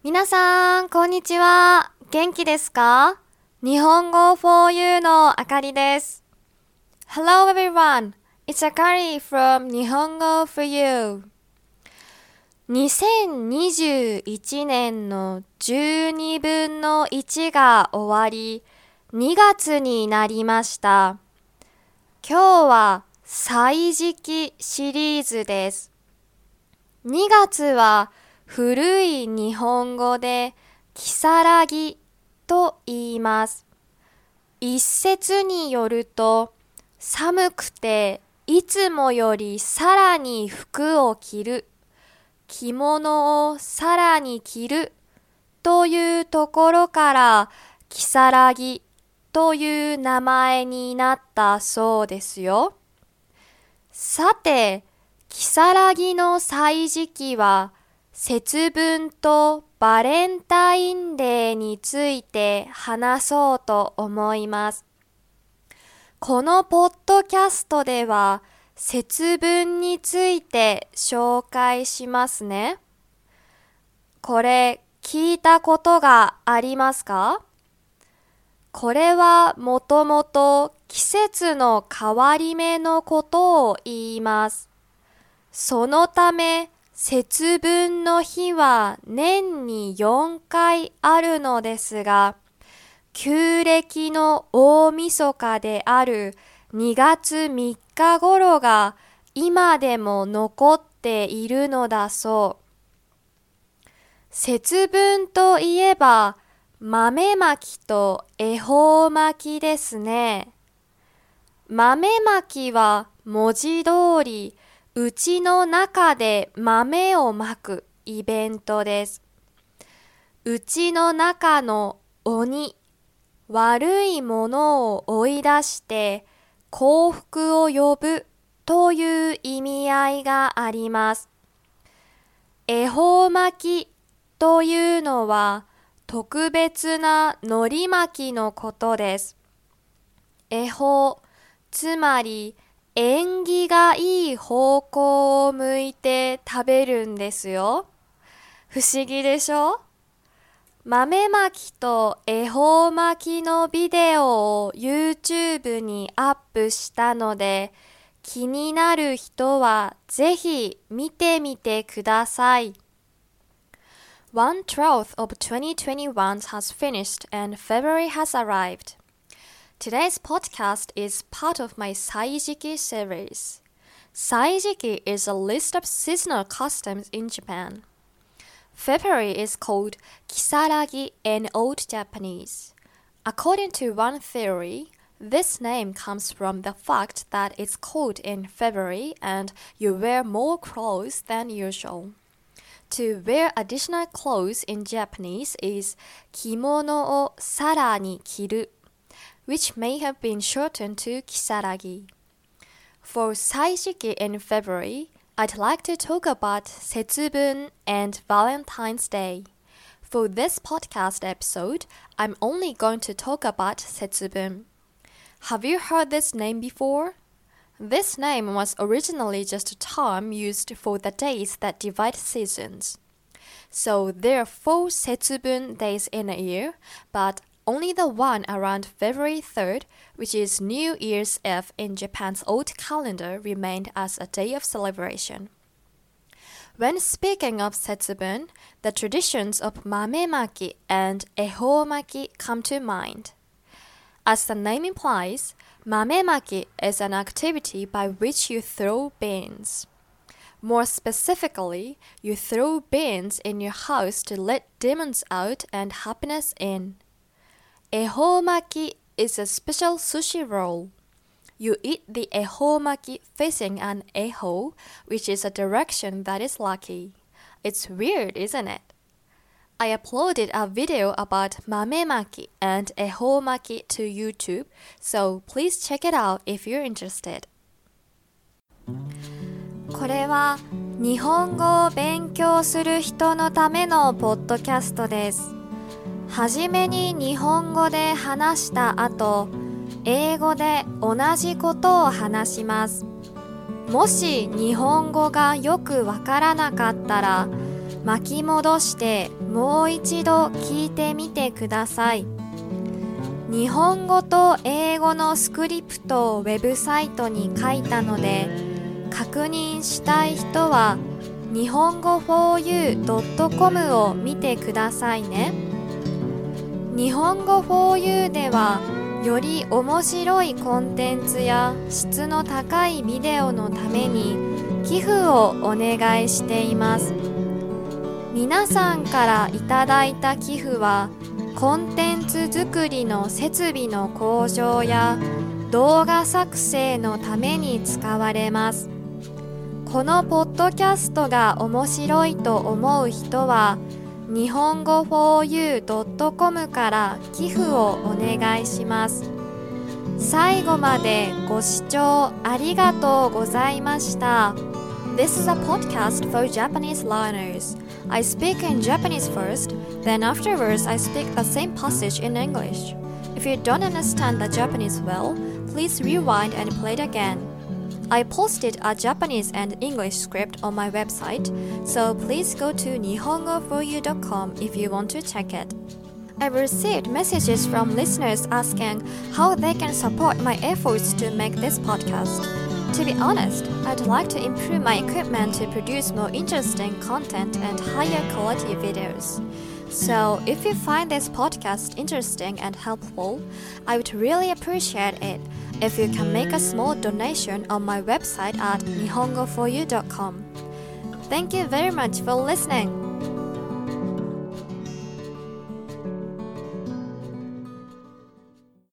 皆さん、こんにちは。元気ですか？日本語 for you のあかりです。Hello everyone, it's Akari from 日本語 for you。2021年の12分の1が終わり、2月になりました。今日は歳時記シリーズです。2月は古い日本語で如月と言います。一説によると、寒くていつもよりさらに服を着る、着物をさらに着るというところから如月という名前になったそうですよ。さて、如月の歳時記は節分とバレンタインデーについて話そうと思います。このポッドキャストでは節分について紹介しますね。これ聞いたことがありますか？これはもともと季節の変わり目のことを言います。そのため節分の日は年に4回あるのですが、旧暦の大晦日である2月3日頃が今でも残っているのだそう。節分といえば豆まきと恵方巻きですね。豆まきは文字通りうちの中で豆をまくイベントです。うちの中の鬼、悪いものを追い出して幸福を呼ぶという意味合いがあります。恵方巻きというのは特別な海苔巻きのことです。恵方、つまり縁起がいい方向を向いて食べるんですよ。不思議でしょ？豆まきと恵方巻きのビデオを YouTube にアップしたので、気になる人はぜひ見てみてください。1/12 of 2021 has finished and February has arrived.Today's podcast is part of my Saijiki series. Saijiki is a list of seasonal customs in Japan. February is called Kisaragi in Old Japanese. According to one theory, this name comes from the fact that it's cold in February and you wear more clothes than usual. To wear additional clothes in Japanese is kimono o sara ni kiru.which may have been shortened to Kisaragi. For Saijiki in February, I'd like to talk about Setsubun and Valentine's Day. For this podcast episode, I'm only going to talk about Setsubun. Have you heard this name before? This name was originally just a term used for the days that divide seasons. So there are 4 Setsubun days in a year, but only the one around February 3rd, which is New Year's Eve in Japan's old calendar, remained as a day of celebration. When speaking of Setsubun, the traditions of Mamemaki and Ehomaki come to mind. As the name implies, Mamemaki is an activity by which you throw beans. More specifically, you throw beans in your house to let demons out and happiness in.Ehomaki is a special sushi roll. You eat the ehomaki facing an eho, which is a direction that is lucky. It's weird, isn't it? I uploaded a video about mamemaki and ehomaki to YouTube, so please check it out if you're interested. これは日本語を勉強する人のためのポッドキャストです。はじめに日本語で話した後、英語で同じことを話します。もし日本語がよくわからなかったら、巻き戻してもう一度聞いてみてください。日本語と英語のスクリプトをウェブサイトに書いたので、確認したい人は日本語 4u.com を見てくださいね。日本語 4u ではより面白いコンテンツや質の高いビデオのために寄付をお願いしています。皆さんからいただいた寄付はコンテンツ作りの設備の向上や動画作成のために使われます。このポッドキャストが面白いと思う人は日本語 4u.com から寄付をお願いします。最後までご視聴ありがとうございました。 This is a podcast for Japanese learners. I speak in Japanese first, then afterwards I speak the same passage in English. If you don't understand the Japanese well, please rewind and play it again.I posted a Japanese and English script on my website, so please go to nihongo4u.com if you want to check it. I've received messages from listeners asking how they can support my efforts to make this podcast. To be honest, I'd like to improve my equipment to produce more interesting content and higher quality videos. So, if you find this podcast interesting and helpful, I would really appreciate it.If you can make a small donation on my website at nihongo4u.com. Thank you very much for listening.